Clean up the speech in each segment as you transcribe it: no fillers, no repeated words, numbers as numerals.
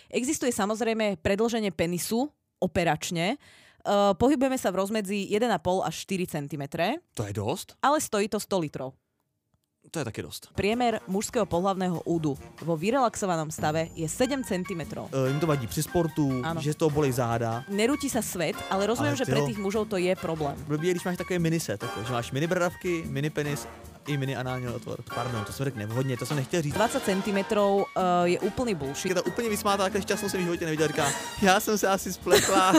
Existuje samozrejme predĺženie penisu operačne. Pohybujeme sa v rozmedzi 1,5 až 4 cm. To je dosť? Ale stojí to 100 litrov. To je také dosť. Priemer mužského pohlavného údu vo vyrelaxovanom stave je 7 cm. Im to vadí při sportu, Áno. že z toho bolí záda. Nerúti sa svet, ale rozumiem, že pre tých mužov to je problém. Blbý je, když máš takové miniset, že máš mini bradavky, mini penis i mini anální otvor. Pardon, to jsem řekl nevhodně, to jsem nechtěl říct. 20 cm je úplný bullshit. Je to úplně vysmátá, takhle šťastnou jsem v životě neviděl, říká, já jsem se asi spletla.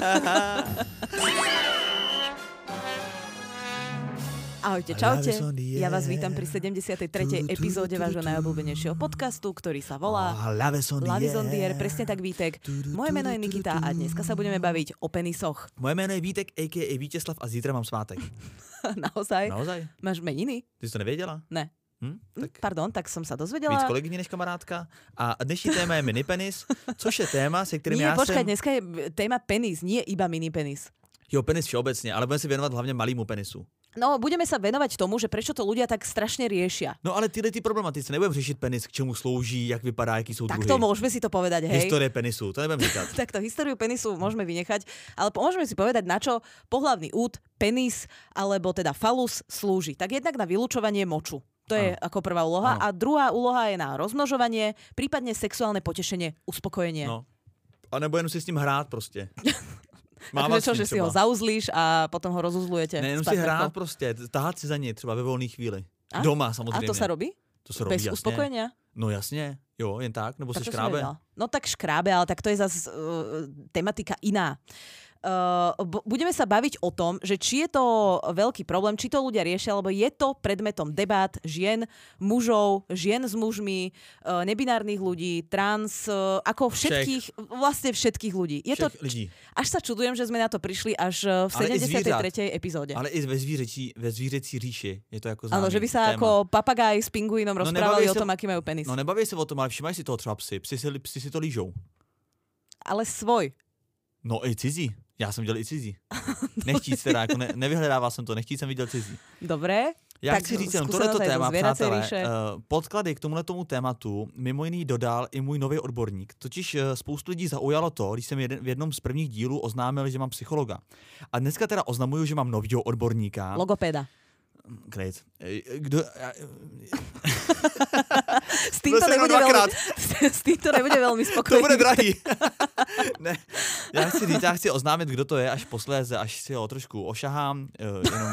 Ahojte, čaute. Ja vás vítam pri 73. epizóde vášho najobľúbenejšieho podcastu, ktorý sa volá Love is on the air. Presne tak, Vítek. Moje meno je Nikita a dneska sa budeme baviť o penisoch. Moje jméno je Vítek, a.k.a. Vítězslav a zítra mám svátek. Naozaj? Naozaj? Máš meniny? Ty jsi to nevěděla? Ne. Tak Pardon, tak som sa dozvedela. víc kolegyně než kamarádka. A dnešní téma je minipenis, což je téma, se kterým Nie, já počkaj, jsem... dneska je téma penis, nie iba mini penis. Jo, penis všeobecně, ale budeme si věnovat hlavně malému penisu. No, budeme sa venovať tomu, že prečo to ľudia tak strašne riešia. No ale tyhle problematice nebudeme řešit penis, k čemu slouží, jak vypadá, jaký jsou Tak druhy. to môžeme si to povedať, hej. Historie penisu, to nebudeme říkat. Takto, históriu penisu môžeme vynechať, ale môžeme si povedať, na čo pohlavný úd, penis, alebo teda falus slúži. Tak jednak na vylučovanie moču. To je ako prvá úloha. Ano. A druhá úloha je na rozmnožovanie, prípadne sexuálne potešenie, uspokojenie. No. A nebo jenom si s ním hrát prostě. Takže čo, že si ho zauzlíš a potom ho rozuzlujete? Ne, jenom si hrát prostě, tahat si za něj třeba ve volné chvíli. A? Doma samozřejmě. A to sa robí? To se robí, Bez jasně. uspokojenia? No jasně, jo, jen tak, nebo Tak se to som škrábe. nevedela. No tak škrábe, ale tak to je zase tematika iná. Budeme sa baviť o tom, že či je to veľký problém, či to ľudia riešia, alebo je to predmetom debát žien, mužov, žien s mužmi, nebinárnych ľudí, trans, ako všetkých, vlastne všetkých ľudí. Je to, lidí. až sa čudujem, že sme na to prišli až v 73. epizóde. Ale i ve zvířecí říši je to jako známý Áno, že by sa téma. ako papagaj s pingvínom rozprávali o tom, aký majú penis. No nebaví se o tom, ale všimají si toho třeba psi si to lížou. Ale svoj. No i cizí. Já jsem viděl i cizí. Nechtít teda, jako nevyhledával jsem to, nechtít jsem viděl cizí. Dobré. Já tak chci říct jenom skúsenosť tohleto aj zo téma, zvieracej přátelé. ríše. Podklady k tomuto tématu mimo jiný dodal i můj nový odborník. Totiž spoustu lidí zaujalo to, když jsem v jednom z prvních dílů oznámil, že mám psychologa. A dneska teda oznamuju, že mám novýho odborníka. Logopéda. Great. S týmto nebude veľmi spokojný. To bude drahý. Ne, já chci oznámit, kdo to je, až posléze, až si ho trošku ošahám, jenom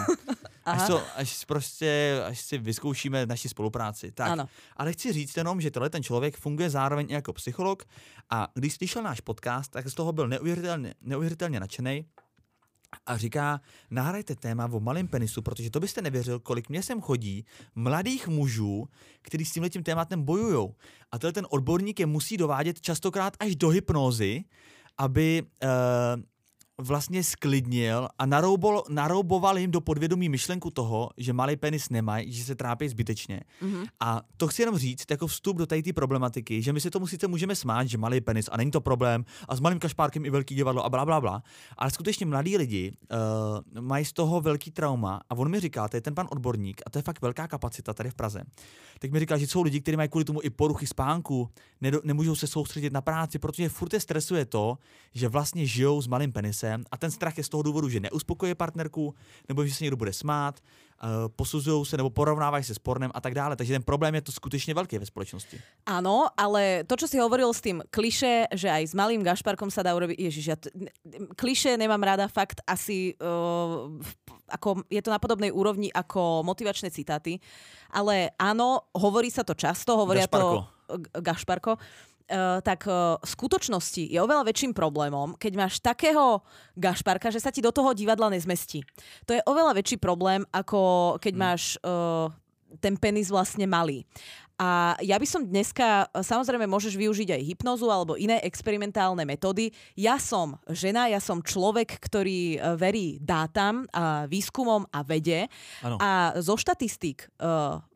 až si vyzkoušíme naši spolupráci. Tak. Ano. Ale chci říct jenom, že ten člověk funguje zároveň i jako psycholog a když slyšel náš podcast, tak z toho byl neuvěřitelně nadšenej. A říká, nahrajte téma o malém penisu, protože to byste nevěřil, kolik mě sem chodí mladých mužů, kteří s tímhletím tématem bojujou. A ten odborník je musí dovádět častokrát až do hypnózy, aby vlastně sklidnil a narouboval jim do podvědomí myšlenku toho, že malý penis nemají, že se trápí zbytečně. Mm-hmm. A to chci jenom říct jako vstup do té problematiky, že my si tomu sice můžeme smát, že malý penis a není to problém a s malým kašpárkem i velký divadlo a blablabla, ale skutečně mladí lidi mají z toho velký trauma a on mi říká, to je ten pan odborník a to je fakt velká kapacita tady v Praze. Tak mi říká, že jsou lidi, kteří mají kvůli tomu i poruchy spánku, nemůžou se soustředit na práci, protože furt je stresuje to, že vlastně žijou s malým penisem. A ten strach je z toho důvodu, že neuspokojí partnerku, nebo že se někdo bude smát, posuzují se nebo porovnávají se s pornem a tak dále. Takže ten problém je to skutečně velký ve společnosti. Áno, ale to, čo si hovoril s tým klišé, že aj s malým gašparkom sa dá urobiť, ježiš, klišé nemám rada, fakt asi ako je to na podobnej úrovni ako motivačné citáty, ale áno, hovorí sa to často, hovoria to Gašparko. Tak v skutočnosti je oveľa väčším problémom, keď máš takého gašparka, že sa ti do toho divadla nezmestí. To je oveľa väčší problém, ako keď máš ten penis vlastne malý. A ja by som dneska, samozrejme môžeš využiť aj hypnozu alebo iné experimentálne metódy. Ja som žena, ja som človek, ktorý verí dátam, a výskumom a vede. Ano. A zo štatistík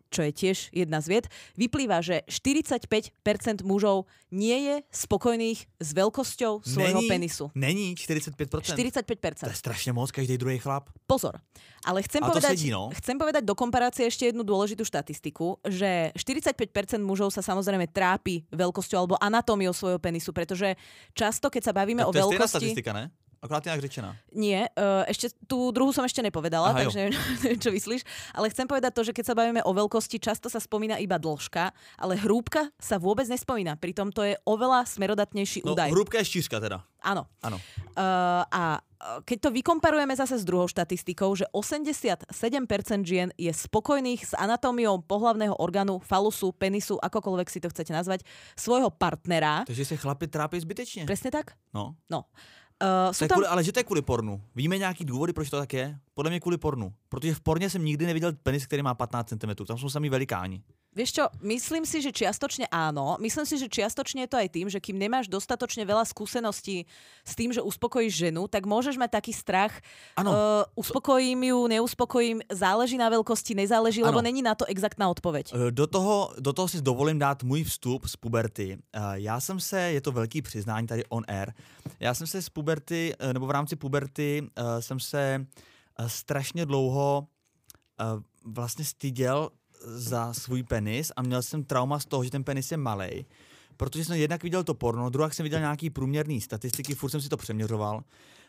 čo je tiež jedna z vied, vyplýva, že 45% mužov nie je spokojných s veľkosťou svojho penisu. Není 45%? 45%. To je strašne moc, každý druhý chlap. Pozor, ale chcem povedať do komparácie ešte jednu dôležitú štatistiku, že 45% mužov sa samozrejme trápi veľkosťou alebo anatómiou svojho penisu, pretože často, keď sa bavíme o veľkosti... To je stejná statistika, ne? Akorát inak řečená. Nie, ešte tú druhú som ešte nepovedala, takže neviem, čo myslíš. Ale chcem povedať to, že keď sa bavíme o veľkosti, často sa spomína iba dĺžka, ale hrúbka sa vôbec nespomína. Pritom to je oveľa smerodatnejší údaj. Hrúbka je štířka teda. Áno. A keď to vykomparujeme zase s druhou štatistikou, že 87% žien je spokojných s anatómiou pohlavného orgánu, falusu, penisu, akokoľvek si to chcete nazvať, svojho partnera. Takže sa chlapi trápí zbytečne. Presne tak? No. Ale že to je kvůli pornu. Víme nějaký důvody, proč to tak je? Podle mě kvůli pornu. Protože v porně jsem nikdy neviděl penis, který má 15 cm. Tam jsou samý velikáni. Vieš čo, myslím si, že čiastočne áno. Myslím si, že čiastočne je to aj tým, že kým nemáš dostatočne veľa skúseností s tým, že uspokojíš ženu, tak môžeš mať taký strach. Uspokojím ju, neuspokojím, záleží na veľkosti, nezáleží, lebo není na to exaktná odpoveď. Do toho si dovolím dát můj vstup z puberty. Je to velký přiznání tady on air, já jsem se z puberty, nebo v rámci puberty jsem se strašně dlouho vlastně styděl za svůj penis a měl jsem trauma z toho, že ten penis je malej, protože jsem jednak viděl to porno, druhak jsem viděl nějaký průměrný statistiky, furt jsem si to přeměřoval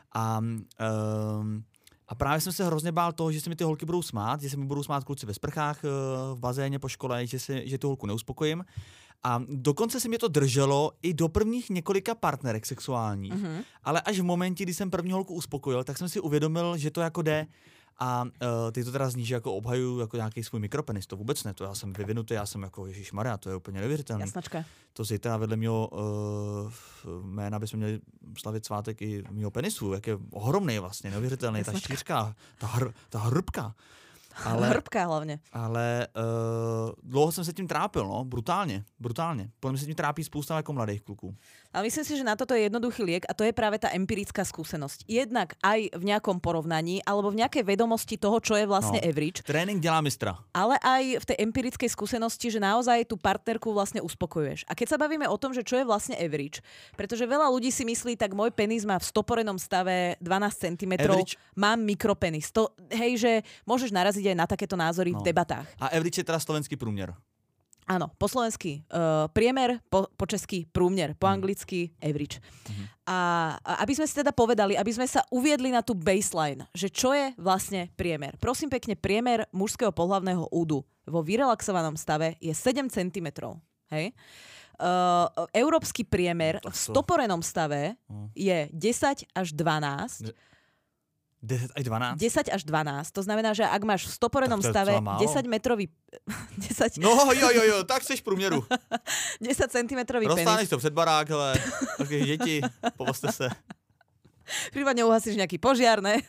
a právě jsem se hrozně bál toho, že se mi ty holky budou smát, že se mi budou smát kluci ve sprchách, v bazéně po škole, že tu holku neuspokojím. A dokonce se mě to drželo i do prvních několika partnerek sexuálních. Mm-hmm. Ale až v momentě, kdy jsem první holku uspokojil, tak jsem si uvědomil, že to jako jde. A ty to teda zní, že jako obhajuju jako nějaký svůj mikropenis, to vůbec ne, to já jsem vyvinutý, já jsem jako ježišmarja, to je úplně neuvěřitelné. Jasnačka. To zítra vedle mého jména bychom měli slavit svátek i mého penisu, jak je ohromný vlastně, neuvěřitelný, ta šířka, ta hrbka. Hrbka hlavně. Ale dlouho jsem se tím trápil, no, brutálně. Podľa mňa sa tím trápí spousta jako mladých kluků. Ale myslím si, že na toto je jednoduchý liek a to je práve tá empirická skúsenosť. Jednak aj v nejakom porovnaní alebo v nejakej vedomosti toho, čo je vlastne average. Trénink dělá mistra. Ale aj v tej empirickej skúsenosti, že naozaj tú partnerku vlastne uspokojuješ. A keď sa bavíme o tom, že čo je vlastne average, pretože veľa ľudí si myslí, tak môj penis má v stoporenom stave 12 cm, mám mikropenis. To, hej, že môžeš naraziť aj na takéto názory v debatách. A average je teda slovenský průměr. Áno, po slovensky priemer, po česky průměr, po anglicky average. A aby sme si teda povedali, aby sme sa uviedli na tú baseline, že čo je vlastne priemer. Prosím pekne, priemer mužského pohlavného údu vo vyrelaxovanom stave je 7 cm. Hej? Európsky priemer v stoporenom stave je 10 až 12. 10 až 12? 10 až 12. To znamená, že ak máš v stoporenom stave 10 metrový... 10... No jo, tak seš v průměru. 10 cm penis. Rozstáneš to před barák, hele, také děti, povozte se. Prípadne uhasíš nejaký požiar, ne?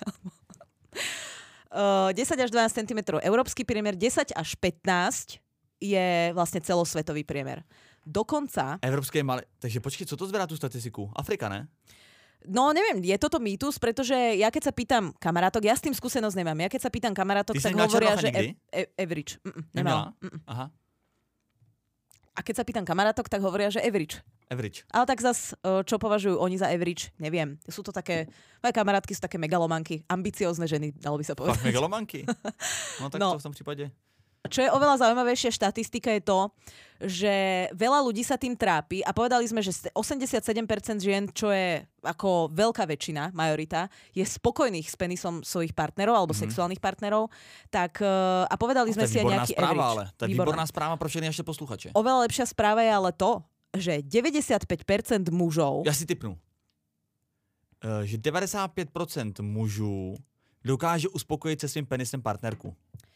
10 až 12 cm európsky priemer, 10 až 15 je vlastne celosvetový priemer. Dokonca... Evropské je malé. Takže počkej, co to zberá tú statistiku? Afrika, ne? No neviem, je toto mýtus, pretože ja keď sa pýtam kamarátok, ja s tým skúsenosť nemám, ja keď sa pýtam kamarátok, tak hovoria, že average. Nemala. Aha. A keď sa pýtam kamarátok, tak hovoria, že average. Ale tak zas, čo považujú oni za average, neviem. Sú to také, moje kamarátky sú také megalomanky, ambiciózne ženy, dalo by sa povedať. Fakt megalomanky? No tak to v tom prípade... Čo je oveľa zaujímavejšia štatistika je to, že veľa ľudí sa tým trápi a povedali sme, že 87% žien, čo je ako veľká väčšina, majorita, je spokojných s penisom svojich partnerov alebo sexuálnych partnerov, tak a povedali sme si aj nejaký správa, average. Ale to je výborná správa pro všechny naše posluchače. Oveľa lepšia správa je ale to, že 95% mužov... Ja si tipnu. Že 95% mužů dokáže uspokojit se svým penisem partnerku.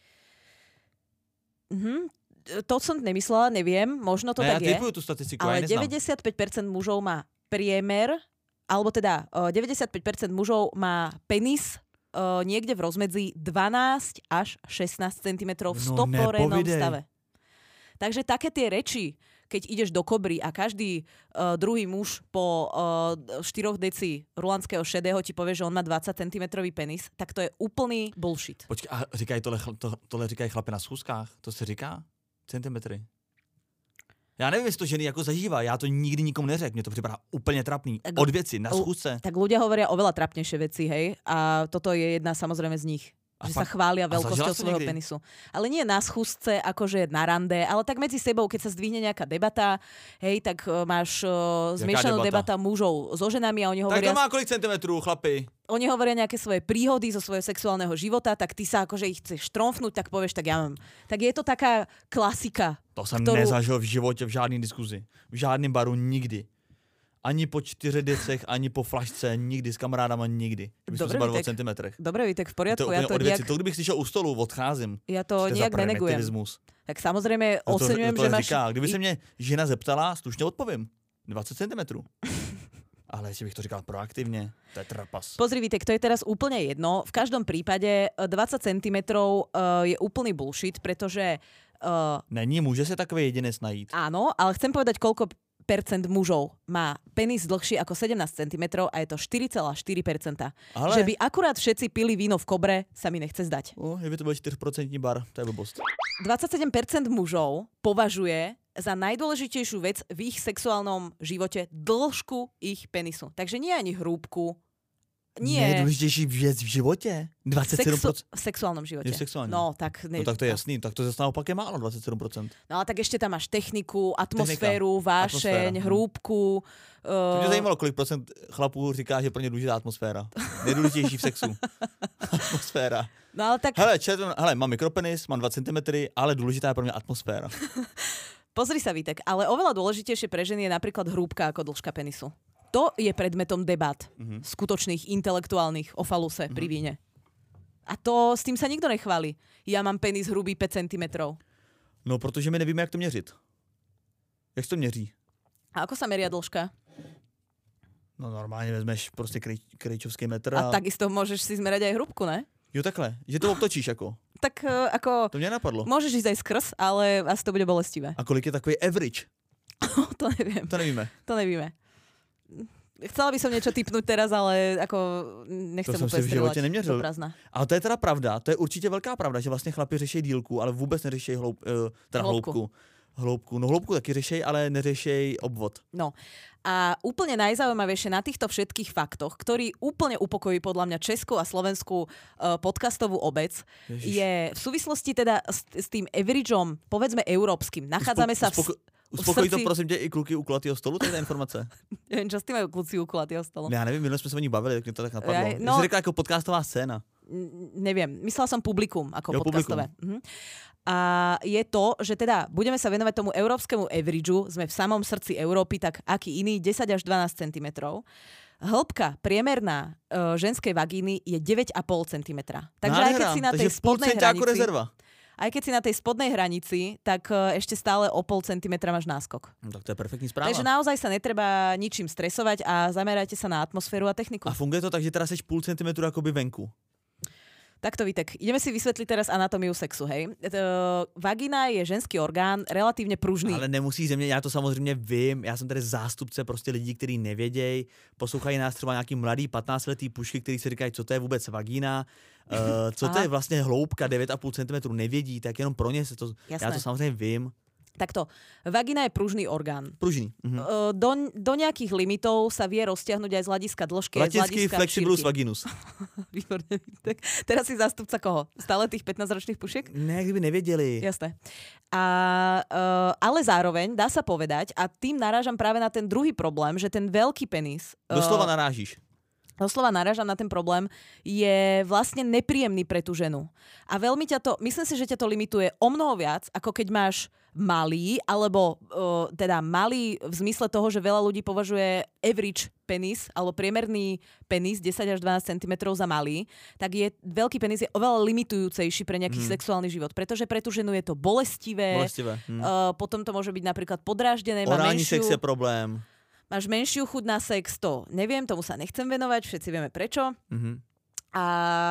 To som nemyslela, neviem, možno to tak je. Ja typujú tú statistiku, ale ja neznám. 95% mužov má priemer, alebo teda 95% mužov má penis niekde v rozmedzi 12 až 16 cm v stoporenom stave. Takže také tie reči, keď ideš do Kobry a každý druhý muž po 4 deci rulandského šedého ti povie, že on má 20 cm penis, tak to je úplný bullshit. Počkej, a říkají tohle říkají chlapi na schůzkách? To se říká? Centimetry. Já nevím, jestli to ženy jako zažívá, já to nikdy nikomu neřekl, mně to připadá úplně trapný. Od věci, na schůzce. Tak ľudia hovoria oveľa trapnejšie veci, hej? A toto je jedna samozrejme z nich. Že sa chvália veľkosťou svojho penisu. Ale nie na schúzce, akože na rande, ale tak medzi sebou, keď sa zdvihne nejaká debata, hej, tak máš zmiešanú debata mužov so ženami a oni hovoria... Tak to má kolik centimetrů, chlapi? Oni hovoria nejaké svoje príhody zo svojho sexuálneho života, tak ty sa akože ich chceš tromfnúť, tak povieš, tak ja mám. Tak je to taká klasika. To jsem nezažil v životě v žádný diskuzi. V žádném baru nikdy. Ani po 4 decech, ani po flašce, nikdy s kamarádama, nikdy. Kdybychom se bavili o centimetrech. Dobre, Vítek, v poriadku. Ja to nejak... To kdybych slyšel u stolu, odcházím. Ja to nejak nenegujem. Tak samozrejme oceňujem, že máš... Kdyby se mě žena zeptala, slušně odpovím. 20 cm. Ale jestli bych to říkal proaktivně, to je trapas. Pozri, Vítek, to je teraz úplne jedno. V každom prípade 20 cm je úplný bullshit, pretože... Není, môže sa takový jedinec najít. Áno, ale chcem povedať, koľko percent mužov má penis dlhší ako 17 cm a je to 4,4%. Ale... Že by akurát všetci pili víno v Kobre, sa mi nechce zdať. Je by to bol 4% bar, to je blbosť. 27% mužov považuje za najdôležitejšiu vec v ich sexuálnom živote dĺžku ich penisu. Takže nie ani hrúbku, nie. Nejdůležitější věc v životě? 27%? V sexuálnom živote. Je sexuálne. No tak to je jasný, tak to zase naopak je málo, 27%. No ale tak ešte tam máš techniku, atmosféru, vášeň, hrúbku. To mě zajímalo, kolik procent chlapů říká, že pro ně důležitá atmosféra. Nejdůležitější v sexu. Atmosféra. No ale tak... Hele, mám mikropenis, mám 2 cm, ale důležitá je pro mě atmosféra. Pozri sa, Vítek, ale oveľa dôležitejšie pre ženy je napríklad hrúbka ako dĺžka penisu. To je predmetom debat skutočných, intelektuálnych o faluse pri víne. A to s tým sa nikto nechváli. Ja mám penis hrubý 5 cm. No, protože my nevíme, jak to měřit. Jak se to měří? A ako sa meria dĺžka? No normálně vezmeš prostě krejčovský metr. A takisto môžeš si zmerať aj hrubku, ne? Jo, takhle. Že to obtočíš jako. Tak ako... To mě napadlo. Môžeš ísť aj skrz, ale asi to bude bolestivé. A kolik je takový average? To neviem. To nevíme. Chcela by som niečo tipnúť teraz, ale ako nechcem úplne strieľať do prázdna. Ale to je teda pravda, to je určitě velká pravda, že vlastně chlapi řeší dílku, ale vůbec neřeší hloubku. No hloubku taky řešej, ale neřešej obvod. No a úplne najzaujímavejšie na týchto všetkých faktoch, ktorý úplne upokojí podľa mňa českú a slovenskú podcastovú obec, je v súvislosti teda s tým averageom, povedzme európskym. Nachádzame sa Uspokojí to, prosím tě, i kluky u kulatého stolu, to je ta informace. Nevím, čo s tím mají kluci u kulatého stolu. Já nevím, minule jsme se o ní bavili, tak mě to tak napadlo. Jsi řekla jako podcastová scéna. Neviem, myslela som publikum ako podcastové. A je to, že teda budeme sa venovať tomu európskemu averageu, sme v samom srdci Európy, tak aký iný, 10 až 12 cm. Hĺbka priemerná ženskej vagíny je 9,5 cm. Takže aj keď si na tej spodnej hranici... Aj keď si na tej spodnej hranici, tak ešte stále o 0,5 centimetra máš náskok. No, tak to je perfektní správa. Takže naozaj sa netreba ničím stresovať a zamerajte sa na atmosféru a techniku. A funguje to tak, že teraz seš 0,5 centimetru akoby venku? Takto, Vítek, ideme si vysvetliť teraz anatómiu sexu, hej. Vagina je ženský orgán, relatívne pružný. Ale nemusí ze mě, já to samozřejmě vím, já jsem tady zástupce prostě lidí, kteří nevědějí, poslouchají nás třeba nějaký mladý 15letý pušky, kteří si říkají, co to je vůbec vagína, co to je vlastně hloubka 9,5 cm, nevědí, tak jenom pro ně se to, já to samozřejmě vím. Takto, vagina je pružný orgán. Pružný. Do nejakých limitov sa vie roztiahnuť aj z hľadiska dĺžky, aj z hľadiska flexibilus vaginus. Výborne. Tak teraz si zástupca koho? Stále tých 15-ročných pušiek? Ne, kdyby nevěděli. Jasné. Ale zároveň dá sa povedať, a tým narážam práve na ten druhý problém, že ten veľký penis... Doslova narážíš. Doslova narážam na ten problém, je vlastne nepríjemný pre tú ženu. A veľmi ťa to, myslím si, že ťa to limituje o mnoho viac, ako keď máš malý, alebo teda malý v zmysle toho, že veľa ľudí považuje average penis, alebo priemerný penis 10 až 12 cm za malý, tak je veľký penis je oveľa limitujúcejší pre nejaký sexuálny život, pretože pre tú ženu je to bolestivé. Potom to môže byť napríklad podráždené. Orálny sex je problém. Máš menšiu chuť na sex, to neviem, tomu sa nechcem venovať, všetci vieme prečo. A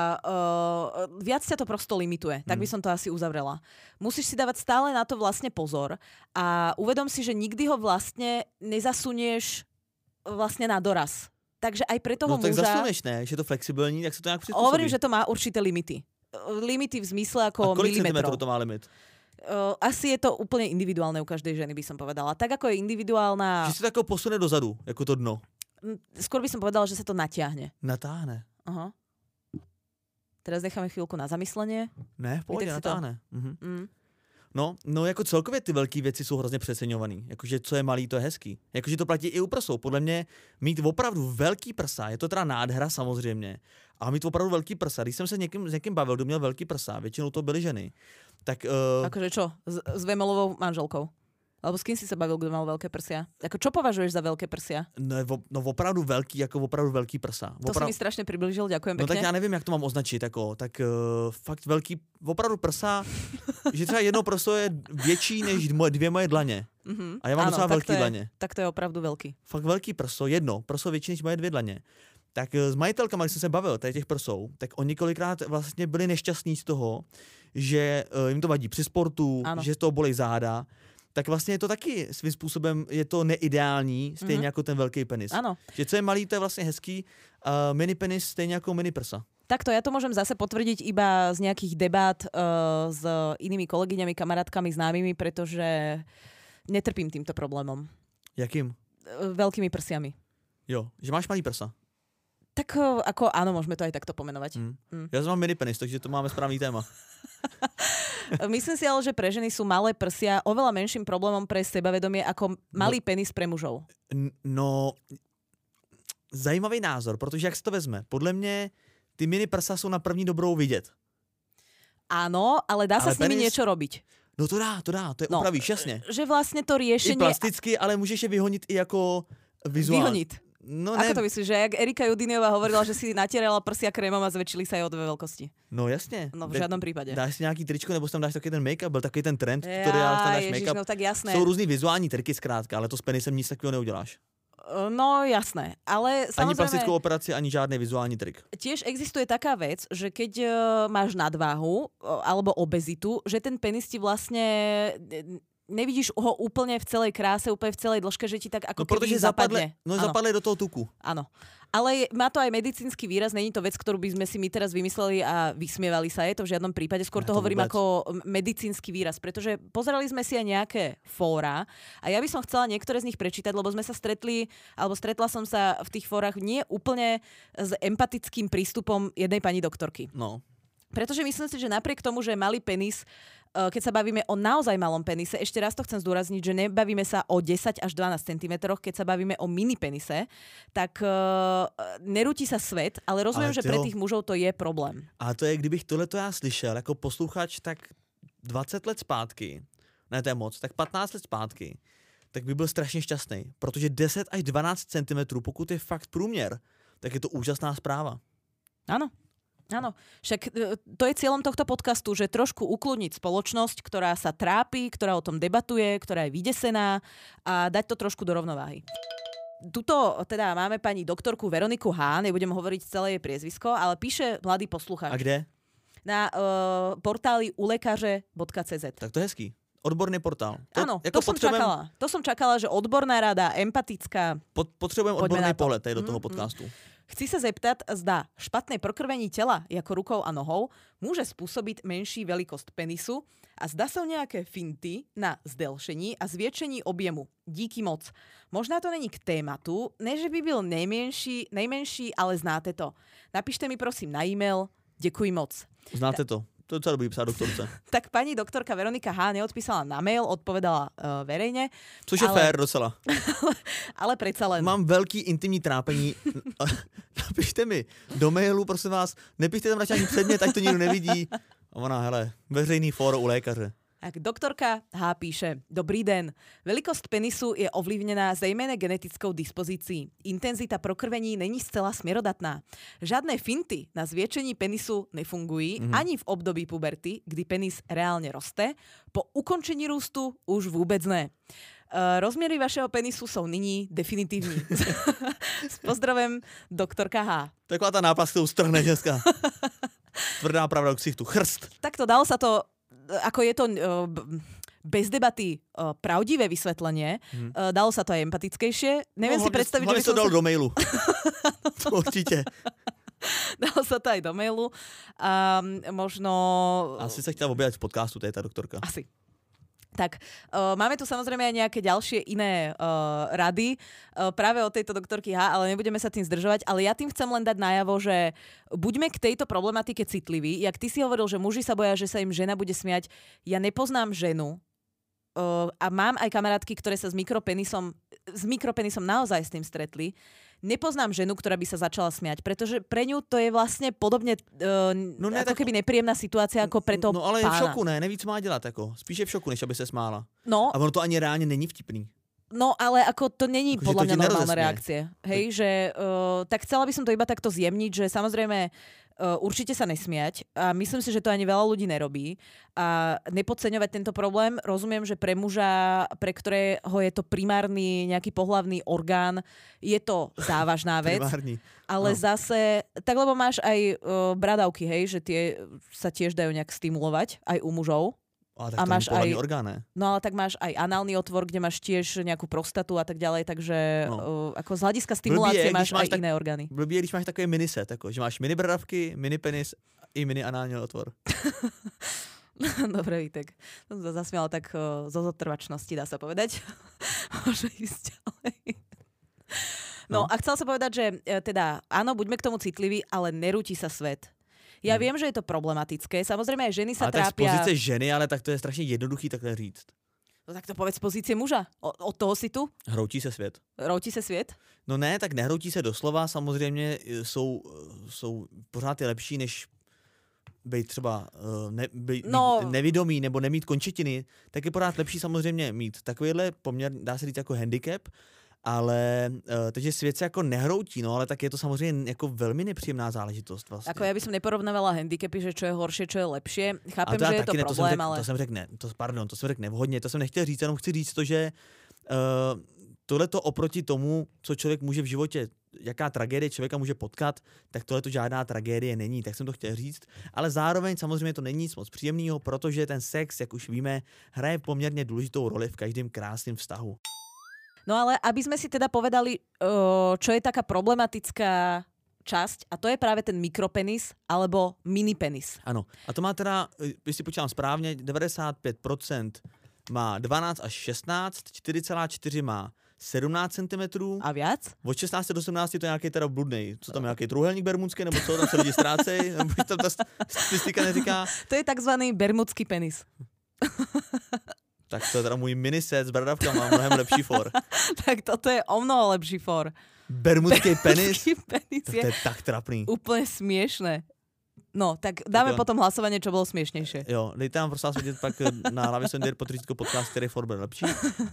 viac ťa to prosto limituje. Tak by som to asi uzavrela. Musíš si dávať stále na to vlastne pozor a uvedom si, že nikdy ho vlastne nezasunieš vlastne na doraz. Takže aj pre toho tak muža... zasuneš, ne? Že je to flexibilní, tak sa to nejak prispôsobí. Hovorím, že to má určité limity. Limity v zmysle ako a kolik milimetrov. centimetrov to má limit? Asi je to úplne individuálne u každej ženy, by som povedala. Tak ako je individuálna... Že si to ako posune dozadu, ako to dno. Skôr by som povedala, že sa to natiahne. Natáhne. Aha. Teraz necháme chvíľku na zamyslenie. Ne, v pohodě, natáhne. No, jako celkově ty velké věci jsou hrozně přeceňovaný. Jakože co je malý, to je hezký. Jakože to platí i u prsou. Podle mě mít opravdu velký prsa, je to teda nádhera samozřejmě, ale mít opravdu velký prsa. Když jsem se s někým bavil, kdo měl velký prsa, většinou to byly ženy. Tak, akože čo? S Vemolovou manželkou? Alebo s kým si sa bavil, kdo mal veľké prsia? Ako čo považuješ za veľké prsia? No opravdu velký, jako opravdu velký prsa. To si mi strašně přiblížil, ďakujem pekne. No tak já nevím, jak to mám označit, jako, tak fakt velký, opravdu prsa, že třeba jedno prso je větší než dvě moje dlaně. A já mám docela velký dlaně. Tak to je opravdu velký. Fakt velký prso, jedno prso větší než moje dvě dlaně. Tak s majitelkama, když jsem se bavil tady těch prsou, tak oni několikrát vlastně byli nešťastní z toho, že jim to vadí při sportu, že z toho bolí záda. Tak vlastně je to taky svým způsobem, je to neideální, stejně jako ten velký penis. Ano. Že co je malý, to je vlastně hezký, mini penis stejně jako mini prsa. Takto, ja to môžem zase potvrdiť iba z nejakých debát s inými kolegyňami, kamarátkami, známymi, pretože netrpím týmto problémom. Jakým? Veľkými prsiami. Jo, že máš malý prsa. Tak ako áno, môžeme to aj takto pomenovať. Ja mám mini penis, takže to máme správný téma. Myslím si ale, že pre ženy sú malé prsia oveľa menším problémom pre sebavedomie ako malý penis pre mužov. No, zajímavý názor, protože jak se to vezme? Podle mě ty mini prsa jsou na první dobrou vidět. Áno, ale dá sa s nimi niečo robiť. No to dá, to je upravíš, jasně. Že vlastne to riešenie... I plasticky, ale můžeš je vyhonit i jako vizuálně. Vyhoniť. No, ako to myslíš, že jak Erika Judiniová hovorila, že si natierala prsia krémom a zväčšili sa jej o 2 veľkosti? No jasně. No v žádném případě. Dáš si nějaký tričko, nebo tam dáš taky ten make-up, byl takový ten trend, který ale tam dáš make-up. No tak jasné. Jsou různý vizuální triky zkrátka, ale to s penisem nic takového neuděláš. No jasné, ale samozrejme... Ani plastickou operaci, ani žádný vizuální trik. Tiež existuje taká vec, že keď máš nadváhu alebo obezitu, že ten penis ti vlastne... Nevidíš ho úplne v celej kráse, úplne v celej dĺžke, že ti tak ako keby zapadne. Zapadne do toho tuku. Áno. Ale má to aj medicínsky výraz, není to vec, ktorú by sme si my teraz vymysleli a vysmievali sa je to v žiadnom prípade. Skôr to hovorím ako medicínsky výraz, pretože pozerali sme si aj nejaké fóra a ja by som chcela niektoré z nich prečítať, lebo sme sa stretli, alebo stretla som sa v tých fórach nie úplne s empatickým prístupom jednej pani doktorky. No. Pretože myslím si, že napriek tomu, že malý penis, keď sa bavíme o naozaj malom penise, ešte raz to chcem zdôrazniť, že nebavíme sa o 10 až 12 cm, keď sa bavíme o mini penise, tak nerúti sa svet, ale rozumiem, že pre tých mužov to je problém. A to je, kdybych tohleto já slyšel jako posluchač, tak 20 let zpátky, ne to je moc, tak 15 let zpátky, tak by byl strašně šťastný, protože 10 až 12 cm, pokud je fakt průměr, tak je to úžasná správa. Áno. Áno, však to je cieľom tohto podcastu, že trošku ukludniť spoločnosť, ktorá sa trápi, ktorá o tom debatuje, ktorá je vydesená a dať to trošku do rovnováhy. Tuto teda máme pani doktorku Veroniku H., nebudem hovoriť celé jej priezvisko, ale píše mladý posluchač. A kde? Na portáli ulekaře.cz. Tak to je hezký. Odborný portál. Áno, to som čakala, že odborná rada, empatická. Potrebujem odborný pohled tady do toho podcastu. Chci sa zeptat, zda špatné prokrvení tela, ako rukou a nohou, môže spôsobiť menší veľkosť penisu a zda sú nejaké finty na zdelšení a zväčšení objemu. Díky moc. Možná to není k tématu, ne že by byl nejmenší, ale znáte to. Napíšte mi prosím na e-mail. Děkuji moc. Znáte to. To je docela dobrý psát doktorce. Tak pani doktorka Veronika H. neodpísala na mail, odpovedala verejne. Což je fér docela. Ale predsa len. Mám velký intimní trápení. Napište mi do mailu, prosím vás, nepíšte tam radši ani předmět, ať to nikdo nevidí. A ona, hele, veřejný fórum u lékaře. Tak doktorka H. píše: Dobrý den. Velikost penisu je ovlivněná zejména genetickou dispozicí. Intenzita prokrvení není zcela směrodatná. Žádné finty na zvětšení penisu nefungují ani v období puberty, kdy penis reálně roste. Po ukončení růstu už vůbec ne. Rozměry vašeho penisu jsou nyní definitivní. S pozdravem, doktorka H. Taková ta náplast, kterou strhne ženská. Tvrdá pravda k ksichtu. Chrst. Takto dalo sa to, ako je to bez debaty pravdivé vysvetlenie, dalo sa to aj empatickejšie. Neviem si predstaviť, že by som to dal do mailu. Určite. Dalo sa to aj do mailu. A možno... Asi sa chtěla objavit v podcastu, to je tá doktorka. Asi. Tak, máme tu samozrejme aj nejaké ďalšie iné rady práve od tejto doktorky H, ale nebudeme sa tým zdržovať, ale ja tým chcem len dať najavo, že buďme k tejto problematike citliví. Jak ty si hovoril, že muži sa boja, že sa im žena bude smiať, ja nepoznám ženu a mám aj kamarátky, ktoré sa s mikropenisom naozaj s tým stretli. Nepoznám ženu, ktorá by sa začala smiať, pretože pre ňu to je vlastne podobne ako keby nepríjemná situácia ako pre toho No ale pána. je v šoku, ne? Neví, co má dělat. Jako. Spíš je v šoku, než aby se smála. No. A ono to ani reálně není vtipný. No, ale ako to není Ako, podľa mňa normálna nerozesmie. reakcie. Hej, že tak chcela by som to iba takto zjemniť, že samozrejme určite sa nesmiať a myslím si, že to ani veľa ľudí nerobí a nepodceňovať tento problém. Rozumiem, že pre muža, pre ktorého je to primárny nejaký pohlavný orgán, je to závažná vec. Primární. Ale zase, tak lebo máš aj bradavky, hej, že tie sa tiež dajú nejak stimulovať aj u mužov. A tak A to máš je pohlavní aj- orgán, ne? No ale tak máš aj análny otvor, kde máš tiež nejakú prostatu a tak ďalej, takže ako z hľadiska stimulácie Blbý je, máš když máš aj iné orgány. Blbý je, když máš takový miniset, jako, že máš mini bradavky, mini penis i mini anální otvor. Dobre, Vítek. To som sa zasmiala tak zo zotrvačnosti, dá sa povedať. Môže ísť ďalej. No a chcela som povedať, že teda áno, buďme k tomu citliví, ale nerúti sa svet. Ja viem, že je to problematické. Samozrejme aj ženy sa Ale tak z trápia... pozice ženy, ale tak to je strašně jednoduchý takhle říct. No tak to povedz z pozície muža. Od toho si tu? Hroutí se svět. Routí se svět? No ne, tak nehroutí se doslova, samozřejmě jsou pořád je lepší, než být třeba být nevidomý nebo nemít končetiny, tak je pořád lepší samozřejmě mít takovýhle poměr, dá se říct jako handicap, ale takže svět se jako nehroutí, no ale tak je to samozřejmě jako velmi nepříjemná záležitost vlastně. Ako ja by som neporovnávala handicapy, že čo je horšie, čo je lepšie. Chápem, že je to problém, ale... To jsem řekl nevhodně, to jsem nechtěl říct, jenom chci říct to, že tohleto oproti tomu, co člověk může v životě, jaká tragédie člověka může potkat, tak tohleto žádná tragédie není, tak jsem to chtěl říct. Ale zároveň samozřejmě to není nic moc příjemného, protože ten sex, jak už víme, hraje poměrně důležitou roli v každém krásném vztahu. No ale aby sme si teda povedali, čo je taká problematická časť, a to je práve ten mikropenis alebo minipenis. Ano. A to má teda, když si počítám správně, 95% má 12 až 16, 4,4 má 17 cm. A viac? Od 16 do 18 to je nějaký teda bludnej. Co tam, nějaký trůhelník bermudský, nebo co tam se lidi ztrácejí? Nebo tam ta statistika neříká? To je takzvaný bermudský penis. Tak to je teda můj miniset s bradavkama, mnohem lepší for. Tak toto je o mnoho lepší for. Bermudský penis? Penis To je tak trapný. úplne smiešné. No, tak dáme Tak jo. potom hlasovanie, čo bolo smiešnejšie. Jo, dejte nám prosím vás vidět pak na hlavě Sondier Potříčko podcast, který for bude lepší.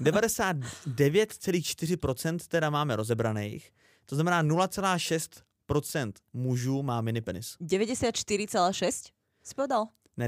99,4% teda máme rozebraných, to znamená 0,6% mužů má minipenis. 94,6 si povedal? Ne,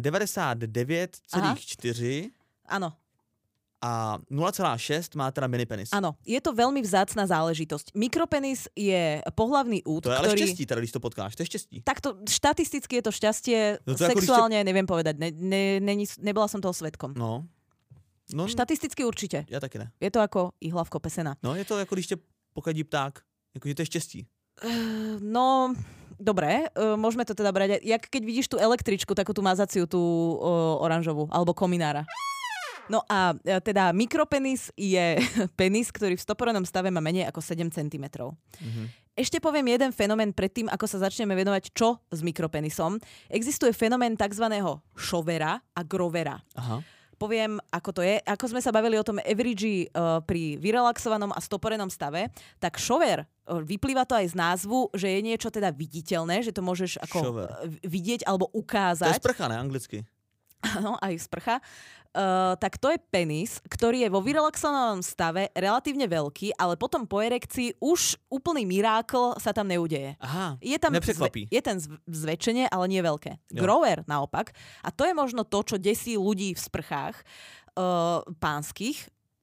99,4 Áno. a 0,6 má teda minipenis. Áno, je to veľmi vzácna záležitosť. Mikropenis je pohlavný úd, To je ale ktorý... štěstí, teda když to potkáš, to je štěstí. Takto štatisticky je to šťastie, No to ako sexuálne neviem povedať. Nebola som toho svedkom. No Štatisticky určite. já taky ne. Je to ako ihla v kope sena. No je to jako když tě pokadí pták, jakože to je štěstí. No, dobre, môžeme to teda brať. Jak keď vidíš tú električku, takú tú mazaciu, tú oranžovú, alebo kominára. No a teda mikropenis je penis, ktorý v stoporenom stave má menej ako 7 cm. Mhm. Ešte poviem jeden fenomén predtým, ako sa začneme venovať, čo s mikropenisom. Existuje fenomén takzvaného šovera a grovera. Aha. Poviem, ako to je. Ako sme sa bavili o tom average pri vyrelaxovanom a stoporenom stave, tak šover, vyplýva to aj z názvu, že je niečo teda viditeľné, že to môžeš ako Šover. vidieť alebo To ukázať. je sprcha, ne, anglicky. Áno, aj sprcha. Tak to je penis, ktorý je vo vyrelaxovanom stave relatívne veľký, ale potom po erekcii už úplný mirákl sa tam neudeje. Aha, Je tam nepřekvapí. je ten zväčšenie, ale nie veľké. Jo. Grower naopak. A to je možno to, čo desí ľudí v sprchách pánskych.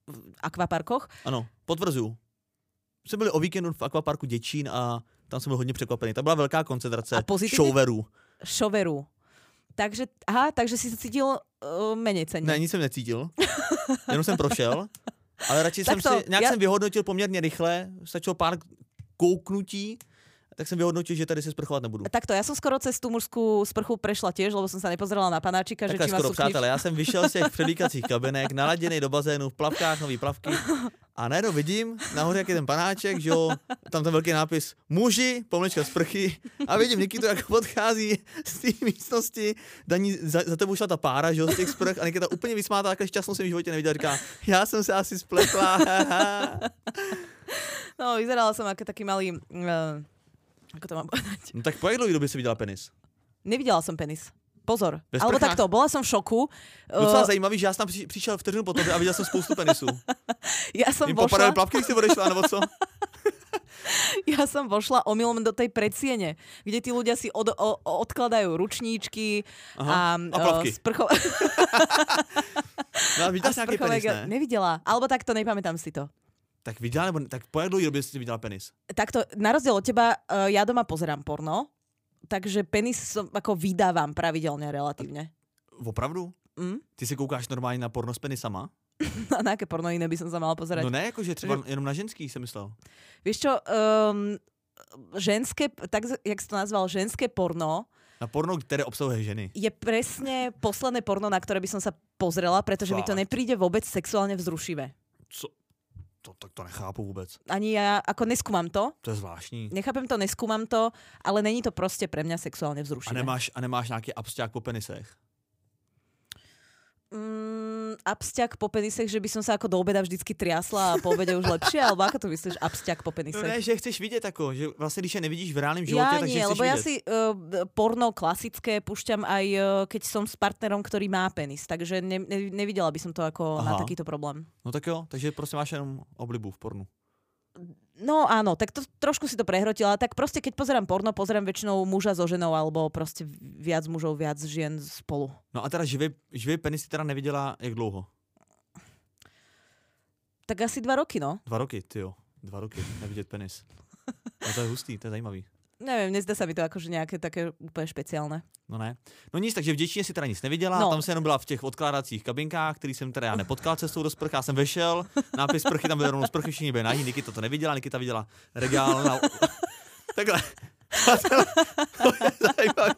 akvaparkoch. Ano, potvrzuju. Jsme byli o víkendu v akvaparku Děčín a tam jsem byl hodně překvapený. Tam byla velká koncentrace šoverů. Takže si se cítil méně cenně. Ne, nic jsem necítil. Jenom jsem prošel. Ale radši jsem vyhodnotil poměrně rychle. Stačilo pár kouknutí. Tak jsem vyhodnotil, že tady se sprchovat nebudu. Takto, ja som skoro cez tú mužskú sprchu prešla tiež, lebo som sa nepozerala na panáčika, že či ma sú přátelé, já jsem vyšel z těch předlíkacích kabinek, naladěnej do bazénu, v plavkách, nový plavky a najednou vidím nahoře, jak je ten panáček, že jo, tam ten velký nápis muži, pomlčka sprchy a vidím Nikitu, jak odchází z té místnosti, Daní, za tebou šla ta pára, že jo, z těch sprch a Nikita úplně vysmátá, takhle šťastnou jsem v životě neviděl, říká, já jsem se asi spletla. No, vyzerala som ako taký malý... Ako to mám povedať? No tak po jak dlouhý době si viděla penis? Nevidela som penis. Pozor. Alebo takto, bola som v šoku. Docela zajímavý, že já jsem tam přišel vteřinu po tobě a viděl jsem spoustu penisů. Ja som Jim popadaly plavky, když si odešla, nebo co? Ja som vošla omylom do tej predsiene, kde tí ľudia si odkladajú ručníčky a plavky. No, viděla jsi nějaký penis, ne? Nevidela. Alebo takto, nepamätám si to. Tak viděla, nebo tak po jak dlouhý době si viděla penis? Takto, na rozdiel od teba, ja doma pozerám porno, takže penis ako vydávam pravidelne relatívne. Opravdu? Ty si koukáš normálně na porno s penisama? Na aké porno iné by som sa mala pozerať? No ne, jakože třeba jenom na ženský jsem myslel. Vieš čo, ženské, tak jak si to nazval, ženské porno, na porno, které obsahuje ženy. Je presne posledné porno, na ktoré by som sa pozrela, pretože mi to nepríde vôbec sexuálne vzrušivé. Co? Tak to nechápu vůbec. Ani ja, ako neskúmam to. To je zvláštní. Nechápem to, neskúmam to, ale není to prostě pre mňa sexuálne vzrušivé. A nemáš nějaký absťák po penisech? Absťak po penisech, že by som sa ako do obeda vždycky triasla a po obede už lepšie, alebo ako to myslíš absťak po penisech? No ne, že chceš vidět ako, že vlastně když je nevidíš v reálnym živote, takže chceš lebo vidět. Ja si porno klasické púšťam aj keď som s partnerom, ktorý má penis, takže nevidela by som to ako na takýto problém. No tak jo, takže prostě máš jenom oblibu v pornu. No áno, tak to, trošku si to prehrotila. Tak proste, keď pozerám porno, pozerám väčšinou muža so ženou, alebo proste viac mužov, viac žien spolu. No a teda živý penis si teda neviděla jak dlouho? Tak asi 2 roky, no. 2 roky, tyjo. 2 roky nevidět penis. No to je hustý, to je zajímavý. Neviem, nezdá sa mi to akože nejaké také úplne špeciálne. No ne. No nic, takže v Děčíně si teda nic neviděla, tam se jenom byla v těch odkládacích kabinkách, který jsem teda já nepotkal cestou do sprch, já jsem vešel, nápis sprchy, tam byl rovnou sprchy, všichni byli nahý, Nikita to neviděla, Nikita viděla regál na... Takhle. To je zajímavý.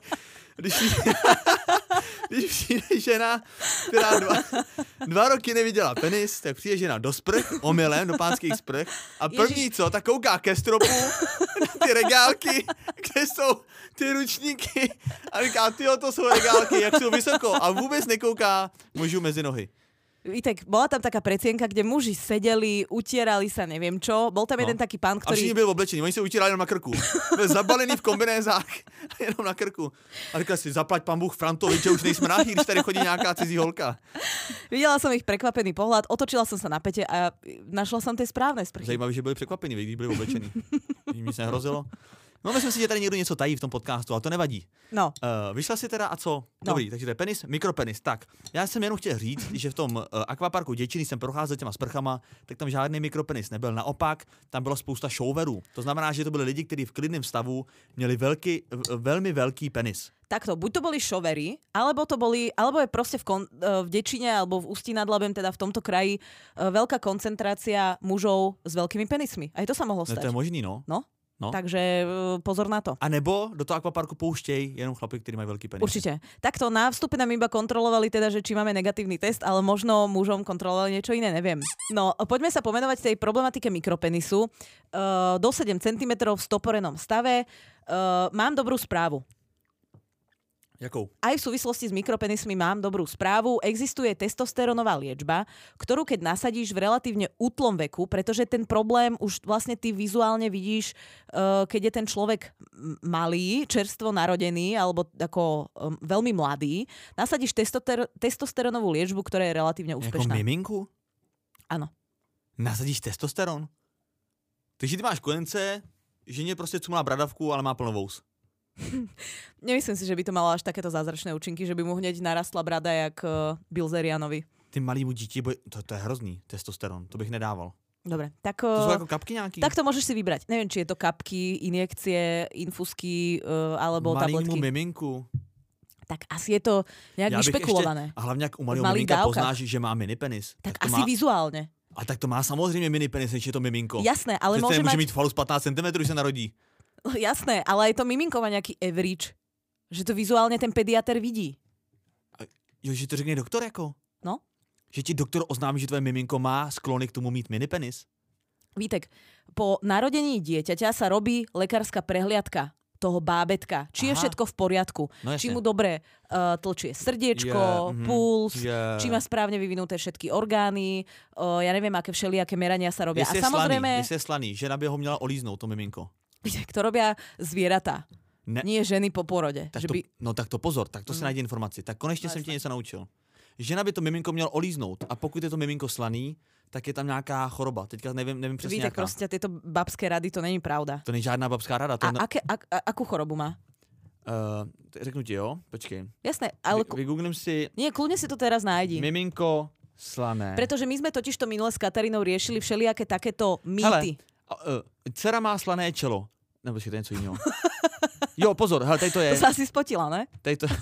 Když přijde žena, která 2 roky neviděla penis, tak přijde žena do sprch, omylem, do pánských sprch a první co, tak kouká ke stropu na ty regálky, kde jsou ty ručníky a říká, tyjo, to jsou regálky, jak jsou vysoko a vůbec nekouká mužů mezi nohy. Vítek, bola tam taká predsienka, kde muži sedeli, utierali sa, neviem čo. Bol tam jeden taký pán, ktorý... A všichni byli oblečení, oni sa utierali jenom na krku. Byl zabalený v kombinézách, jenom na krku. A říkal si, zaplať pán Bůh Frantovi, že už nejsme nahý, když tady chodí nějaká cizí holka. Videla som ich prekvapený pohľad, otočila som sa na pete a našla som tie správne sprchy. Zajímavé, že byli překvapení, když byli oblečení. Jim nic nehrozilo. No, myslím si, že tady někdo něco tají v tom podcastu, ale to nevadí. No. Vyšla si teda a co? Dobrý, takže to je penis, mikropenis. Tak, já jsem jenom chtěl říct, že v tom akvaparku Děčíny jsem procházel těma sprchama, tak tam žádný mikropenis nebyl. Naopak, tam byla spousta showerů. To znamená, že to byli lidi, kteří v klidném stavu měli velmi velký penis. Takto, buď to boli šovery, alebo je proste v Děčíne alebo v Ústí nad Labem, teda v tomto kraji, veľká koncentrácia mužov s veľkými penismi. Aj to sa mohlo stať. No, to je možný, no. No. Takže pozor na to. A nebo do toho akvaparku pouštěj jenom chlapy, ktorí majú veľký penis. Určite. Takto na vstupe nám iba kontrolovali teda, že či máme negatívny test, ale možno mužom kontrolovali niečo iné, neviem. No, poďme sa pomenovať tej problematike mikropenisu. Do 7 cm v stoporenom stave. Mám dobrú správu. Jakou? Aj v súvislosti s mikropenismi mám dobrú správu. Existuje testosterónová liečba, ktorú keď nasadíš v relatívne útlom veku, pretože ten problém už vlastne ty vizuálne vidíš, keď je ten človek malý, čerstvo narodený alebo ako veľmi mladý, nasadíš testosterónovú liečbu, ktorá je relatívne úspešná. Jako miminku? Áno. Nasadíš testosterón? Takže ty máš konence, ženě prostě cumlá bradavku, ale má plno vous. Nemyslím si, že by to malo až takéto zázračné účinky, že by mu hneď narastla brada jak Bilzerianovi. Ty malýmu dítě, to je hrozný, testosteron, to bych nedával. Dobre, tak... To sú ako kapky nejaký? Tak to môžeš si vybrať. Neviem, či je to kapky, injekcie, infusky alebo tabletky. Malýmu miminku. Tak asi je to nejak vyšpekulované. A hlavne, ak u malého miminka poznáš, že má minipenis. Tak asi má... vizuálne. A tak to má samozrejme minipenis, než je to miminko. Jasné, ale môže mať... mít falus 15 cm, že sa narodí. Jasné, ale aj to miminko má nejaký average. Že to vizuálne ten pediater vidí. Jo, že to řekne doktor jako? No. Že ti doktor oznámí, že tvoje miminko má sklony k tomu mít minipenis? Vítek, po narodení dieťaťa sa robí lekárska prehliadka toho bábetka. Či je všetko v poriadku. No, či mu dobre tlčie srdiečko, puls, či má správne vyvinuté všetky orgány. Ja neviem, aké všelijaké merania sa robia. Jestli a samozrejme... Jestli je slaný, žena by ho měla olíznout, to miminko. Vítek, to robia zvieratá. Ne. Nie ženy po porode. Tak že to, by... No tak to pozor, tak to si najdi informaci. Tak konečně jsem tě něco naučil. Žena by to miminko měl olíznout a pokud je to miminko slaný, tak je tam nějaká choroba. Teďka nevím přesně jaká. Víte, prostě tyto babské rady, to není pravda. To není žádná babská rada. To akú chorobu má? Řeknu ti, jo? Počkej. Jasné, ale... Vygooglím si... Nie, kľudne si to teraz nájdi. Miminko slané. Pretože my sme totiž to minule s Katarínou riešili všelijaké takéto mýty. Hele, dcera má slané čelo. Nebo si to něco jiného. Jo, pozor, hele, tady to je. To sa asi spotila, ne? Tady to...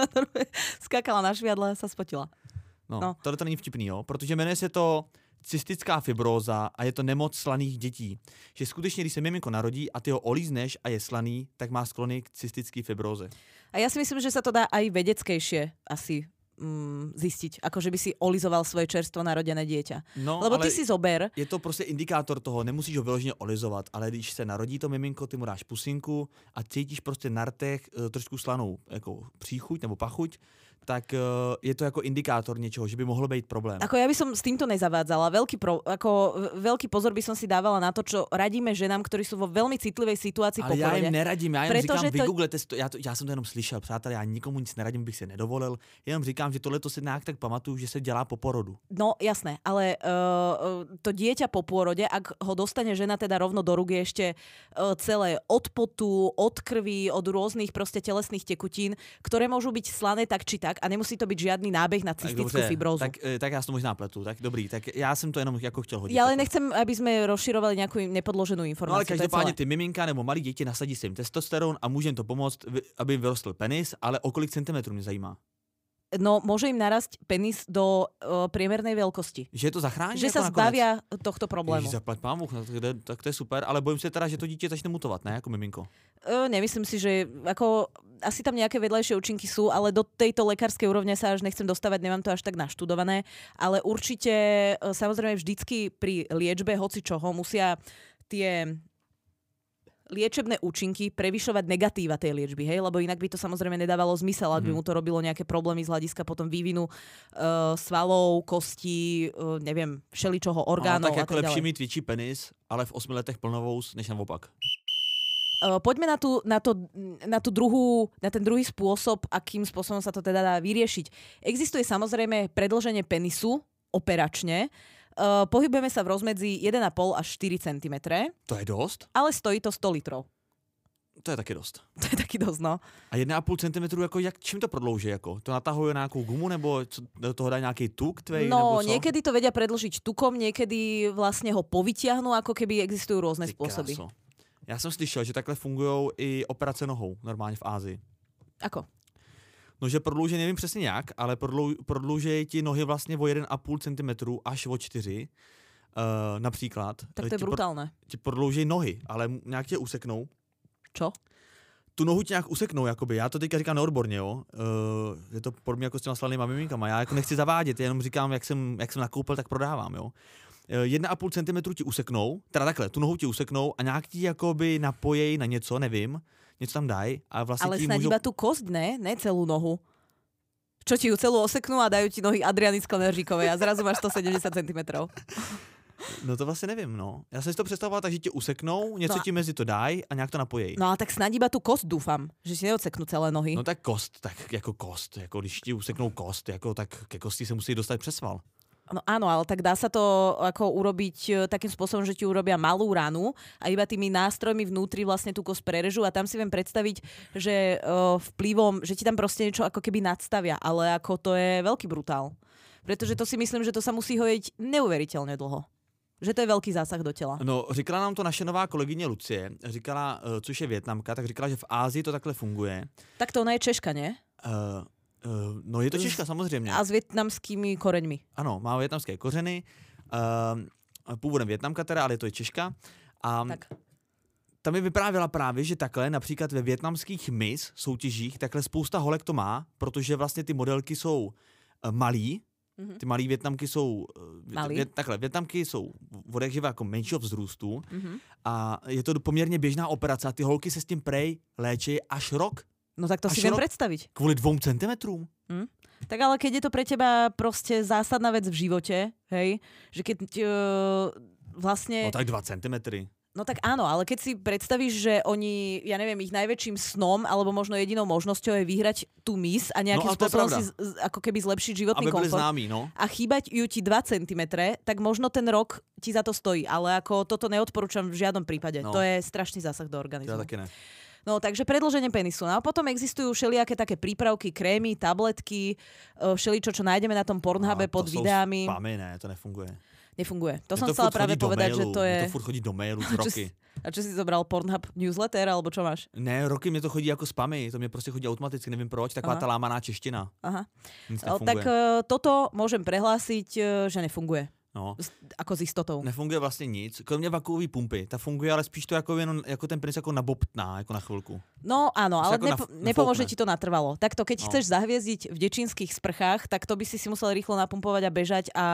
Skákala na šviadle a sa spotila. No. Tohle to není vtipný, jo? Protože jmenuje se to cystická fibróza a je to nemoc slaných dětí. Že skutečně, když se miminko narodí a ty ho olízneš a je slaný, tak má sklony k cystické fibróze. A ja si myslím, že sa to dá aj vedeckejšie asi zistiť, ako že by si olizoval svoje čerstvo narodené dieťa. No, lebo ty si zober... Je to prostě indikátor toho, nemusíš ho vyloženě olizovat, ale když se narodí to miminko, ty mu dáš pusinku a cítíš prostě na rtech trošku slanou jako příchuť nebo pachuť, tak je to jako indikátor niečoho, že by mohlo být problém. Ako ja by som s týmto nezavádzala. Veľký pozor by som si dávala na to, čo radíme ženám, ktorí sú vo veľmi citlivej situácii po porode. Ale ja im neradím, ja jenom říkám, vygooglete si to, já jsem to jenom slyšel, přátelé, já nikomu nic neradím, bych si nedovolil, jenom říkám, že tohle to si nějak tak pamatuju, že se dělá po porodu. No jasné, ale to dieťa po pôrode, ak ho dostane žena teda rovno do rúk, je ešte celé od potu, od krvi, od rôznych proste telesných tekutín, ktoré môžu byť slané tak či tak a nemusí to byť žiadny nábeh na cystickú fibrózu. Tak já si to možná pletu, tak dobrý, tak já jsem to jenom jako chtěl hodit. Ja ale nechcem, aby sme rozširovali nejakú nepodloženú informáciu. No ale každopádně ty miminka nebo malí děti nasadí si jim testosteron a může jim to pomoct, aby jim vyrostl penis, ale o kolik centimetrů mě zajímá. No, môže im narasť penis do priemernej veľkosti. Že to zachrání? Že jako sa zbavia tohto problému. Ježiš, zaplať pámu, tak to je super, ale bojím se teda, že to dítě začne mutovat, ne, jako miminko. Nemyslím si, že ako, asi tam nejaké vedľajšie účinky sú, ale do tejto lekárskej úrovne sa až nechcem dostávať, nemám to až tak naštudované, ale určite samozrejme vždycky pri liečbe hoci čoho musia tie liečebné účinky prevyšovať negatíva tej liečby, hej? Lebo inak by to samozrejme nedávalo zmysel, ak by mu to robilo nejaké problémy z hľadiska potom vývinu svalov, kostí, neviem, všeličoho orgánov tak a tak ďalej. lepší mít větší penis, ale v 8 letech plnovous, než naopak. Poďme na ten druhý spôsob, akým spôsobom sa to teda dá vyriešiť. Existuje samozrejme predĺženie penisu operačne. Pohybujeme sa v rozmedzi 1,5 až 4 cm. To je dost? Ale stojí to 100 litrov. To je taky dost. To je taky dost, no. A 1,5 cm, jako čím to prodlouží? Jako? To natahuje na nějakou gumu, nebo do toho dá nějaký tuk tvej? No, nebo co? niekedy to vedia predĺžiť tukom, niekedy vlastne ho povytiahnu, ako keby existujú rôzne spôsoby. Já jsem slyšel, že takhle fungují i operace nohou, normálně v Ázii. Ako? No, že prodlouží, nevím přesně jak, ale prodlouží ti nohy vlastně o 1,5 cm až o 4 například. Tak to je brutálne. Ti prodlouží nohy, ale nějak tě useknou. Čo? Tu nohu ti nějak useknou, jakoby. Já to teďka říkám neodborně, jo. Je to podobně jako s těma slanýma miminkama. Já jako nechci zavádět, jenom říkám, jak jsem nakoupil, tak prodávám, jo. 1,5 cm ti useknou, teda takhle, tu nohu ti useknou a nějak ti jakoby napojej na něco, nevím, něco tam dají a vlastně ale ti snad můžou... iba tú kosť, ne celú nohu. Čo ti ju celú oseknú a dajú ti nohy Adriany Skleneříkovej a zrazu máš 170 cm. No to vlastně nevím, no. Já jsem si to představoval tak, že ti useknou, něco ti mezi to dají a nějak to napojejí. No a tak snad iba tú kosť dúfam, že si neodseknú celé nohy. No tak kost, jako když ti useknou kost, jako tak ke kosti se musí dostat přes sval. No áno, ale tak dá sa to ako urobiť takým spôsobom, že ti urobia malú ranu a iba tými nástrojmi vnútri vlastne tú kosť prerežú a tam si viem predstaviť, že vplyvom, že ti tam proste niečo ako keby nadstavia, ale ako to je veľký brutál. Pretože to si myslím, že to sa musí hojiť neuveriteľne dlho. Že to je veľký zásah do těla. No, říkala nám to naše nová kolegyně Lucie, říkala, což je Vietnamka, tak říkala, že v Ázii to takhle funguje. Tak to ona je Češka, ne? No, je to Češka samozřejmě. A s vietnamskými koreňmi. Ano, má vietnamské kořeny, původem Vietnamka teda, ale je to i Češka. A tak. tam mi vyprávěla právě, že takhle například ve vietnamských Miss soutěžích takhle spousta holek to má, protože vlastně ty modelky jsou malý. Ty malý Vietnamky jsou takhle, Vietnamky jsou odjakživa jako menšího vzrůstu a je to poměrně běžná operace a ty holky se s tím prej léčí až rok. No tak to si viem predstaviť. Kvôli 2 centimetrům. Tak ale keď je to pre teba proste zásadná vec v živote, hej, že keď vlastne... No tak 2 centimetry. No tak áno, ale keď si predstavíš, že oni, ja neviem, ich najväčším snom alebo možno jedinou možnosťou je vyhrať tú Miss a nejakým spôsobom si ako keby zlepšiť životný komfort. Známi, no. A chýbať ju ti 2 cm, tak možno ten rok ti za to stojí, ale ako toto neodporúčam v žiadnom prípade. No. To je strašný zásah do organizmu. Ja taky ne. No, takže predĺženie penisu. No a potom existujú všelijaké také prípravky, krémy, tabletky, všeličo, čo nájdeme na tom Pornhube pod videami. Spamy, ne, to nefunguje. Nefunguje. To som chcela práve povedať, že to je... To furt chodí do mailu z roky. A čo si zobral Pornhub newsletter, alebo čo máš? Ne, roky mě to chodí jako spamy, to mě prostě chodí automaticky, nevím proč, taková ta lámaná čeština. Aha. Tak toto môžem prehlásiť, že nefunguje. No. Ako s istotou. Nefunguje vlastně nic, kromě vakuové pumpy. Ta funguje, ale spíš to jako, jenom, jako ten penis jako nabobtná, jako na chvilku. No áno, ale nepomôže ti to natrvalo. Takto, keď chceš zahviezdiť v dečínskych sprchách, tak to by si musel rýchlo napumpovať a bežať a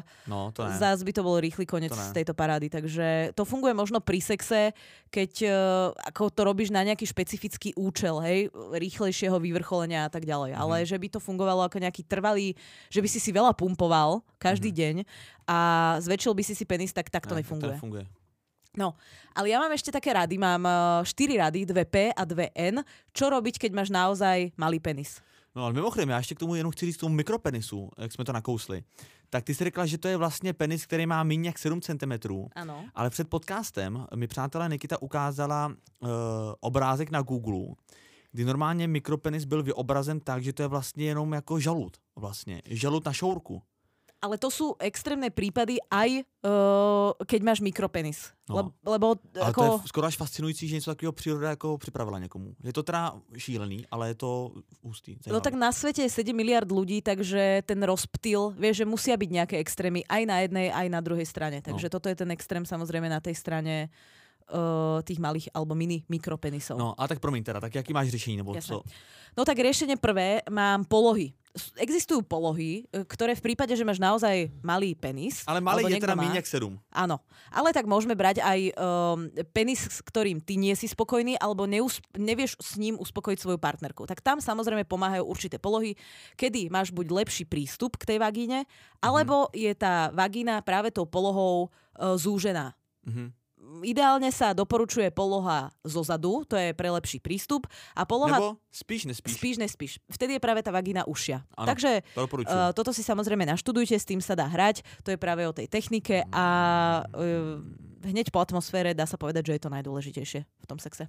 zás by to bol rýchly koniec z tejto parády. Takže to funguje možno pri sexe, keď ako to robíš na nejaký špecifický účel, hej, rýchlejšieho vyvrcholenia a tak ďalej. Ale že by to fungovalo ako nejaký trvalý, že by si veľa pumpoval každý deň a zväčšil by si penis, tak to nefunguje. To nefunguje. No, ale ja mám ešte také rady. Mám 4 rady, 2P a 2N. Čo robiť, keď máš naozaj malý penis? No ale mimochodem, já ještě k tomu jenom chci říct tomu mikropenisu, jak jsme to nakousli. Tak ty jsi řekla, že to je vlastně penis, který má méně jak 7 cm. Ano. Ale před podcastem mi přátelé Nikita ukázala obrázek na Google, kdy normálně mikropenis byl vyobrazen tak, že to je vlastně jenom jako žalud. Vlastně. Žalud na šourku. Ale to sú extrémne prípady aj keď máš mikropenis. No. Lebo ale ako... to je skoro až fascinující, že něco takového příroda jako připravila někomu. Je to teda šílený, ale je to hustý. No tak na svete je 7 miliard ľudí, takže ten rozptyl, vieš, že musia byť nejaké extrémy aj na jednej, aj na druhej strane. Takže toto je ten extrém samozrejme na tej strane tých malých alebo mini mikropenisov. No a tak promiň teda, tak jaký máš řešení? Nebo co? No tak riešenie prvé, mám polohy. Existujú polohy, ktoré v prípade, že máš naozaj malý penis... Ale malý je teda míň jak 7. Áno, ale tak môžeme brať aj penis, s ktorým ty nie si spokojný, alebo nevieš s ním uspokojiť svoju partnerku. Tak tam samozrejme pomáhajú určité polohy, kedy máš buď lepší prístup k tej vagíne, alebo je tá vagína práve tou polohou zúžená. Ideálne sa doporučuje poloha zozadu, to je pre lepší prístup. A poloha... Nebo spíš nespíš. Spíš nespíš. Vtedy je práve tá vagína užšia. Ano, takže toto si samozrejme naštudujte, s tým sa dá hrať. To je práve o tej technike a hneď po atmosfére dá sa povedať, že je to najdôležitejšie v tom sexe.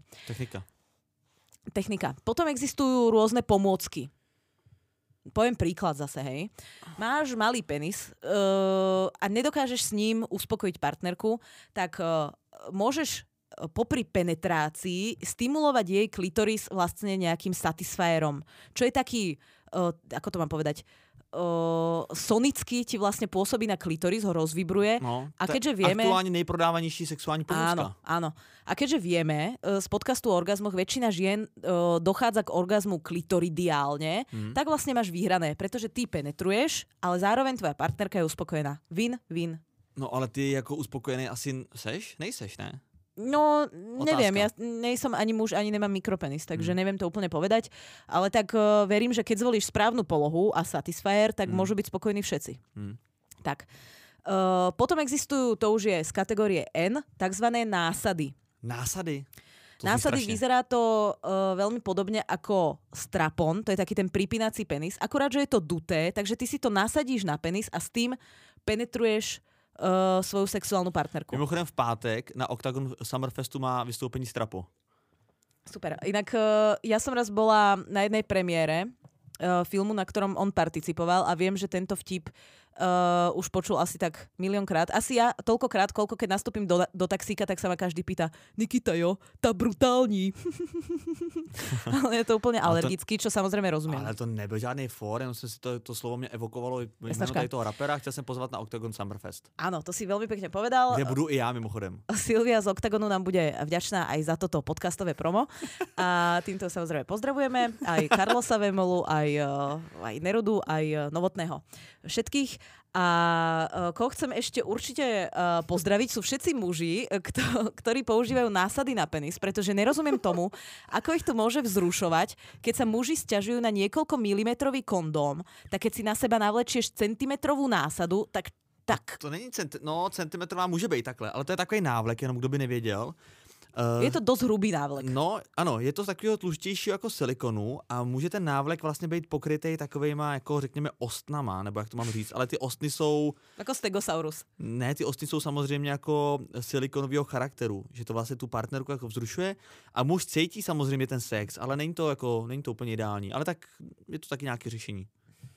Technika. Potom existujú rôzne pomôcky. Poviem príklad zase, hej. Máš malý penis a nedokážeš s ním uspokojiť partnerku, tak môžeš popri penetrácii stimulovať jej klitoris vlastne nejakým satisfierom. Čo je taký, ako to mám povedať, sonicky ti vlastne pôsobí na klitoris, ho rozvibruje. No, a keďže vieme... Aktuálne nejprodávanejší sexuální pomôcka. Áno. A keďže vieme z podcastu o orgazmoch, väčšina žien dochádza k orgazmu klitoridiálne, tak vlastne máš vyhrané, pretože ty penetruješ, ale zároveň tvoja partnerka je uspokojená. Win-win. No ale ty jako uspokojený asi seš? Nejseš, ne? No, neviem, ja nejsom ani muž, ani nemám mikropenis, takže neviem to úplne povedať, ale tak verím, že keď zvolíš správnu polohu a satisfier, tak môžu byť spokojní všetci. Tak. Potom existujú, to už je z kategórie N, takzvané násady. Násady? Násady vyzerá to veľmi podobne ako strapon, to je taký ten pripínací penis, akurát, že je to duté, takže ty si to nasadíš na penis a s tým penetruješ svoju sexuálnu partnerku. Mimochodem v pátek na Octagon Summerfestu má vystoupení Strapo. Super. Inak ja som raz bola na jednej premiére filmu, na ktorom on participoval a viem, že tento vtip už počul asi tak miliónkrát. Asi ja toľkokrát, koľko keď nastúpim do taxíka, tak sa ma každý pýta Nikita, jo, tá brutální. Ale je to úplne alergický, čo samozrejme rozumiem. Ale to nebyl žádný fór, jenom si to slovo mě evokovalo jméno tady toho rapera, chtěl jsem pozvat na Octagon Summerfest. Áno, to si veľmi pekne povedal. Kde budu i já mimochodem. Silvia z Octagonu nám bude vďačná aj za toto podcastové promo. A týmto samozrejme pozdravujeme aj Carlosa Vemolu, aj Nerudu, aj Novotného. Všetkých. A koho chcem ešte určite pozdraviť, sú všetci muži, ktorí používajú násady na penis, pretože nerozumiem tomu, ako ich to môže vzrušovať, keď sa muži sťažujú na niekoľko milimetrový kondóm, tak keď si na seba navlečieš centimetrovú násadu, tak... To není centimetrová může být takhle, ale to je takový návlek, jenom kdo by nevěděl. Je to dosť hrubý návlek. No, ano, je to z takového tluštějšího jako silikonu a může ten návlek vlastně být pokrytý takovejma, jako řekněme, ostnama, nebo jak to mám říct, ale ty ostny jsou... Jako stegosaurus. Ne, ty ostny jsou samozřejmě jako silikonového charakteru, že to vlastně tu partnerku jako vzrušuje a muž cítí samozřejmě ten sex, ale není to úplně ideální, ale tak je to taky nějaké řešení.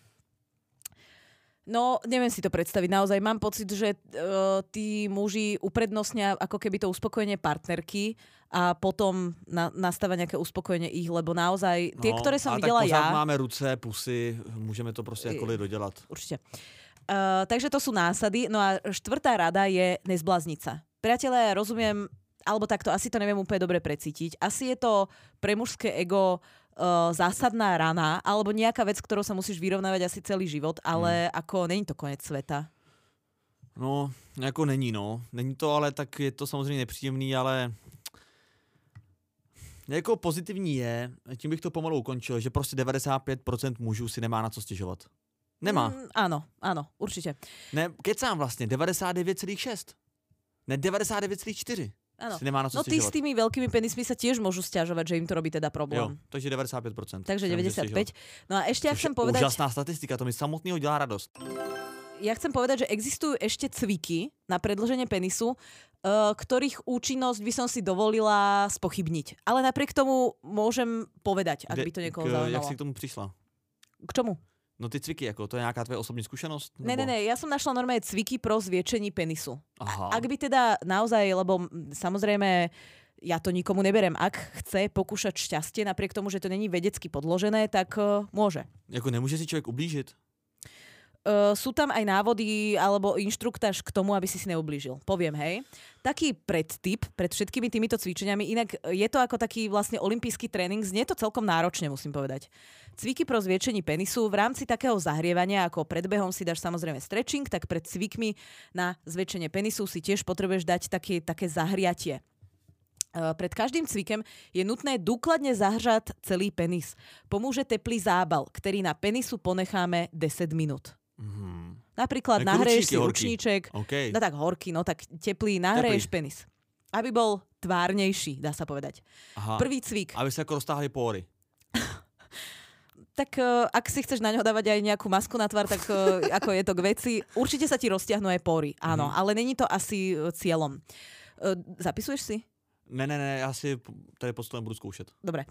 No, neviem si to predstaviť. Naozaj mám pocit, že tí muži uprednostnia ako keby to uspokojenie partnerky a potom nastáva nejaké uspokojenie ich, lebo naozaj tie, ktoré som videla ja... Ale tak máme ruce, pusy, môžeme to proste jakkoliv dodelať. Určite. Takže to sú násady. No a štvrtá rada je nezblázniť sa. Priatelia, ja rozumiem, alebo takto, asi to neviem úplne dobre precítiť. Asi je to pre mužské ego zásadná rana, alebo nejaká vec, ktorou sa musíš vyrovnávať asi celý život, ale ako není to konec sveta. No, jako není, no. Není to, ale tak je to samozřejmě nepříjemný, ale jako pozitivní je, tím bych to pomalu ukončil, že prostě 95% mužů si nemá na co stěžovat. Nemá. Áno, určite. Ne, kecám vlastně, 99,6. Ne, 99,4. Áno. No tí s tými veľkými penismi sa tiež môžu sťažovať, že im to robí teda problém. Jo, takže 95%. Takže 95%. No a ešte ja chcem povedať... Úžasná statistika, to mi samotného dělá radost. Ja chcem povedať, že existujú ešte cviky na predĺženie penisu, ktorých účinnosť by som si dovolila spochybniť. Ale napriek tomu môžem povedať, ak by to niekoho zaujímalo. Jak si k tomu prišla? K čomu? No ty cviky, jako, to je nějaká tvoje osobní zkušenost? Nebo... Ne, ja som našla normálne cviky pro zviečení penisu. Aha. Ak by teda naozaj, lebo samozrejme ja to nikomu neberem, ak chce pokúšať šťastie, napriek tomu, že to není vedecky podložené, tak môže. Jako nemôže si človek ublížiť? Sú tam aj návody alebo inštruktáž k tomu, aby si neublížil. Poviem, hej. Taký predtip pred všetkými týmito cvičeniami, inak je to ako taký vlastne olympijský tréning, znie to celkom náročne, musím povedať. Cviky pro zviečení penisu v rámci takého zahrievania, ako pred behom si dáš samozrejme stretching, tak pred cvikmi na zväčšenie penisu si tiež potrebuješ dať také zahriatie. Pred každým cvikem je nutné dôkladne zahřať celý penis. Pomôže teplý zábal, ktorý na penisu ponecháme 10 minút. Napríklad nahreješ si ručníček, okay. No tak horký, no tak teplý, nahreješ penis. Aby bol tvárnejší, dá sa povedať. Aha. Prvý cvik. Aby sa ako roztáhli pory. Tak ak si chceš na ňo dávať aj nejakú masku na tvár, tak ako je to k veci, určite sa ti roztiahnu aj pory, áno, ale není to asi cieľom. Zapisuješ si? Ne, já si tady postupem budu zkoušet. Dobre.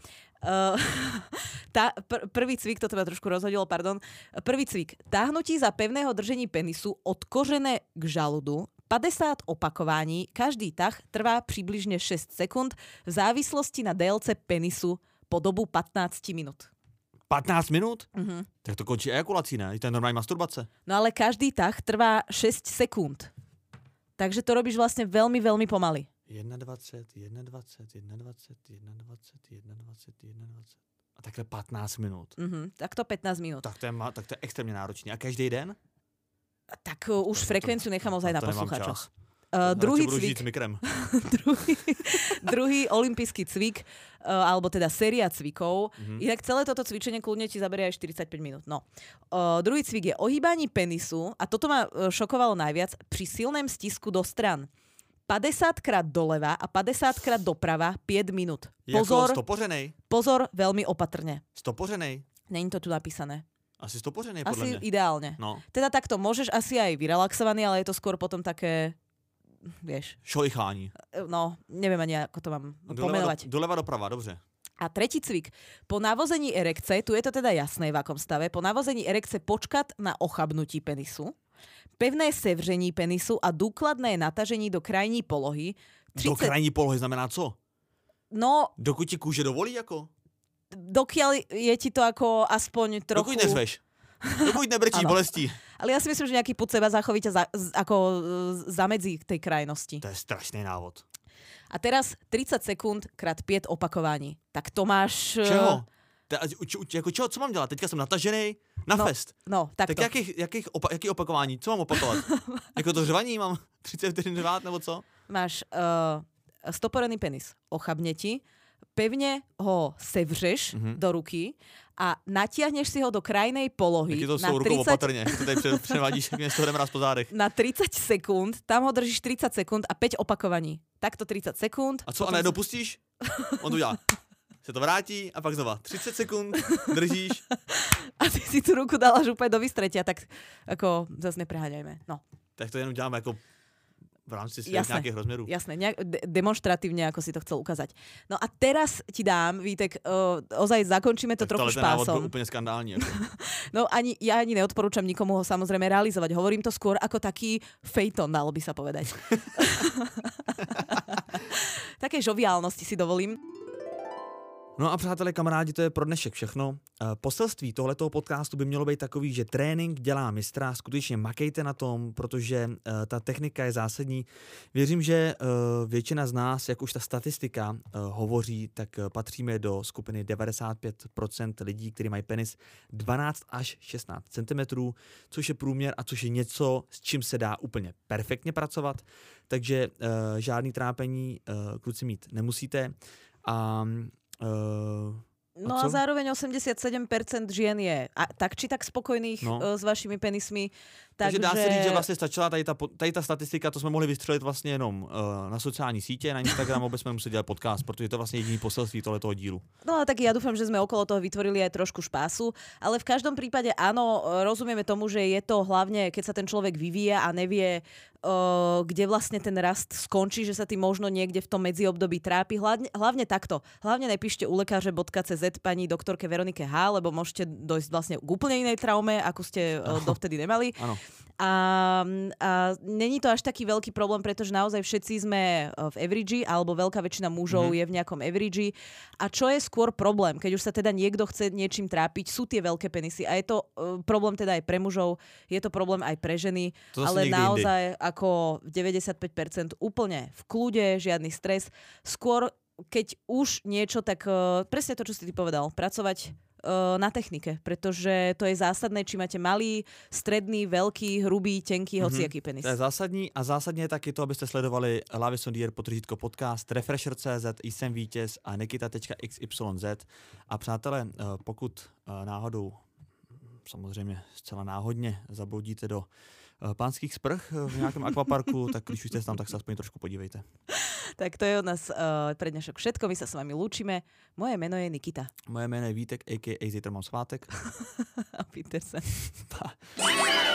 Prvý cvik, toto ma trošku rozhodilo, pardon. Prvý cvik. Táhnutí za pevného držení penisu od kořene k žaludu. 50 opakovaní. Každý tah trvá přibližne 6 sekúnd v závislosti na délce penisu po dobu 15 minút. 15 minút? Tak to končí ejakulací, ne? To je normální masturbace. No ale každý tah trvá 6 sekúnd. Takže to robíš vlastne veľmi, veľmi pomaly. 21. A takhle 15 minút. Tak to 15 minút. Tak to je extrémně náročný. A každý den? Tak už frekvenciu nechám ozaj na poslucháčoch. Druhý cvik. Druhý olympijský cvik, alebo teda séria cvikov. Inak celé toto cvičenie kľudne ti zaberie aj 45 minút. No. Druhý cvik je ohýbanie penisu, a toto ma šokovalo najviac, pri silném stisku do stran. 50 krát doleva a 50 krát doprava 5 minút. Pozor, stopořenej? Pozor, veľmi opatrne. Stopořenej? Není to tu napísané. Asi stopořenej, podľa mňa. Asi ideálne. No. Teda takto, môžeš asi aj vyrelaxovaný, ale je to skôr potom také, vieš. Šolichání. No, neviem ani, ako to mám pomenovať. Doleva doprava, dobře. A tretí cvik. Po navození erekce, tu je to teda jasné v akom stave, po navození erekce počkať na ochabnutí penisu, pevné sevření penisu a důkladné natažení do krajní polohy. Do krajní polohy znamená co? No, dokud ti kůže dovolí jako? Dokiaľ je ti to ako aspoň trochu... Dokud nezveš. Dokud nebrčí bolestí. Ale ja si myslím, že nejaký pud seba záchovy ťa zamedzí tej krajnosti. To je strašný návod. A teraz 30 sekúnd krát 5 opakovaní. Tak to máš... Čeho? Jako čeho? Co mám dělat? Teďka jsem natažený na fest. No, tak to. Jaký opakování? Co mám opakovat? Jako to řvaní mám 30 vteřin řvát, nebo co? Máš stoporený penis. Ochabne ti. Pevne ho sevřeš do ruky a natiahneš si ho do krajnej polohy. Jak je to s tou rukou opatrně? To tady převádíš, jak mě z toho jdem raz po zádech. Na 30 sekúnd, tam ho držíš 30 sekúnd a 5 opakovaní. Takto 30 sekúnd. A co, a najednou pustíš? On to udělá. Se to vrátí a pak znova 30 sekúnd, držíš. A ty si tu ruku dala až úplne do vystretia, tak ako zase nepreháňajme. No. Tak to jenom děláme jako v rámci nejakých rozmerů. Jasné, demonstratívne, ako si to chcel ukázať. No a teraz ti dám, Vítek, ozaj zakončíme to trochu špásom. Tak ten návod bol úplne skandálny. Ako. No ja ani neodporúčam nikomu ho samozrejme realizovať. Hovorím to skôr ako taký fejton, dalo by sa povedať. Také žoviálnosti si dovolím. No a přátelé, kamarádi, to je pro dnešek všechno. Poselství tohletoho podcastu by mělo být takový, že trénink dělá mistra, skutečně makejte na tom, protože ta technika je zásadní. Věřím, že většina z nás, jak už ta statistika hovoří, tak patříme do skupiny 95% lidí, kteří mají penis 12 až 16 cm, což je průměr a což je něco, s čím se dá úplně perfektně pracovat. Takže žádný trápení kluci mít nemusíte. No a zároveň 87% žien je tak či tak spokojných s vašimi penismi. Takže dá se říct, že vlastně stačila tady ta statistika, to jsme mohli vystřelit vlastně jenom na sociální sítě, na Instagram, vůbec jsme museli dělat podcast, protože to je vlastně jediný poselství tohletoho dílu. No tak ja dúfam, že sme okolo toho vytvorili aj trošku špásu, ale v každom prípade áno, rozumieme tomu, že je to hlavne, keď sa ten človek vyvíja a nevie, kde vlastne ten rast skončí, že sa tým možno niekde v tom medziobdobí trápi. Hlavne takto. Hlavne nepíšte u lekáře.cz pani doktorke Veronike H, lebo môžete dojsť vlastne k úplne inej traume, ako ste dovtedy nemali. Áno. A není to až taký veľký problém, pretože naozaj všetci sme v average, alebo veľká väčšina mužov je v nejakom average. A čo je skôr problém, keď už sa teda niekto chce niečím trápiť, sú tie veľké penisy. A je to problém teda aj pre mužov, je to problém aj pre ženy, ale naozaj ako 95% úplne v kľude, žiadny stres. Skôr, keď už niečo, tak presne to, čo si ty povedal, pracovať na technike, pretože to je zásadné, či máte malý, stredný, veľký, hrubý, tenký, hociaký penis. To je zásadní a zásadně je taky to, abyste sledovali Lavison podcast, Refresher.cz, Jsem vítěz a Nikita.xyz. A přátelé, pokud náhodou, samozřejmě zcela náhodně, zabloudíte do pánských sprch v nějakém akvaparku, tak když už jste tam, tak se aspoň trošku podívejte. Tak to je od nás pre dnešok všetko. My sa s vami lúčime. Moje meno je Nikita. Moje jméno je Vítek, a.k.a. Zítra mám svátek. A Petersen. Pa.